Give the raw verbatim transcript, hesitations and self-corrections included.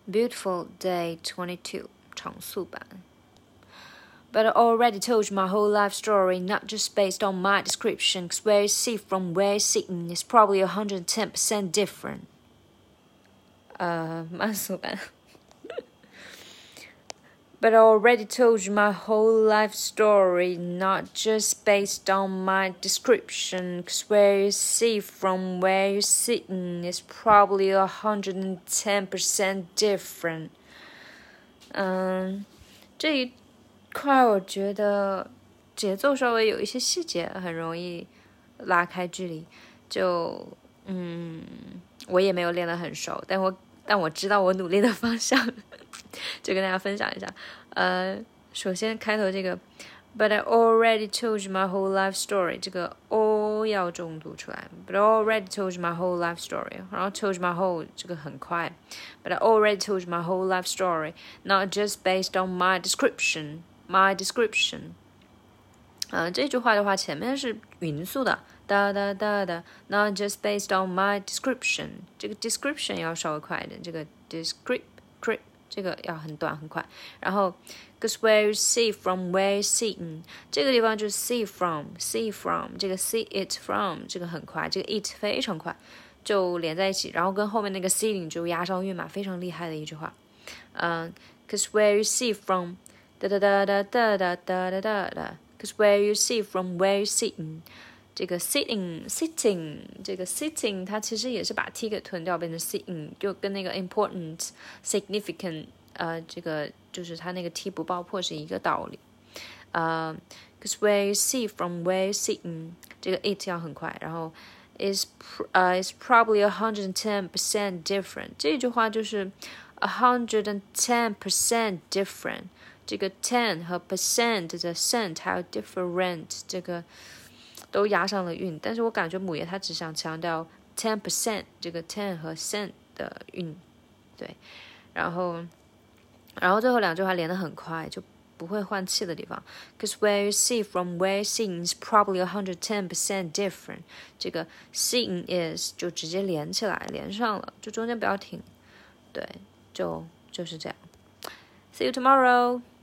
Beautiful Day twenty-two 常速版。But I already told you my whole life story, not just based on my description, cause where you see from where you're sitting is probably one hundred ten percent different. 呃，慢速版。But I already told you my whole life story, not just based on my description, cause where you see from where you're sitting is probably one hundred ten percent different. 嗯，这一块我觉得节奏稍微有一些细节，很容易拉开距离。就嗯，我也没有练得很熟，但我但我知道我努力的方向。就跟大家分享一下，呃，首先开头这个 ，But I already told you my whole life story， 这个 all 要重读出来 ，But I already told you my whole life story， 然后 told you my whole 这个很快 ，But I already told you my whole life story，not just based on my description，my description。呃，这句话的话，前面是匀速的，哒哒哒哒 ，not just based on my description， 这个 description 要稍微快一点，这个 descript。这个要很短很快，然后 cause where you see from where you seen 这个地方就是 see from see from 这个 see it from 这个很快，这个 it 非常快就连在一起，然后跟后面那个 seeing 就押上韵嘛，非常厉害的一句话。嗯 cause where you see from 哒哒哒哒哒哒哒哒哒哒 cause where you see from where you seen这个 sitting sitting 这个 sitting 它其实也是把 t 给吞掉变成 sitting， 就跟那个 important significant 呃这个就是它那个 t 不爆破是一个道理。呃 cause where you see from where you sitting 这个 it 要很快，然后 is 呃 is probably one hundred ten percent different 这句话就是 one hundred ten percent different 这个 ten 和 percent 的 cent 还有 different 这个都押上了韵，但是我感觉母爷他只想强调 ten percent 这个 ten 和 cent 的韵，对，然后然后最后两句话连得很快，就不会换气的地方 cause where you see from where you seen is probably one hundred ten percent different 这个 seen is 就直接连起来连上了，就中间不要停，对，就就是这样 See you tomorrow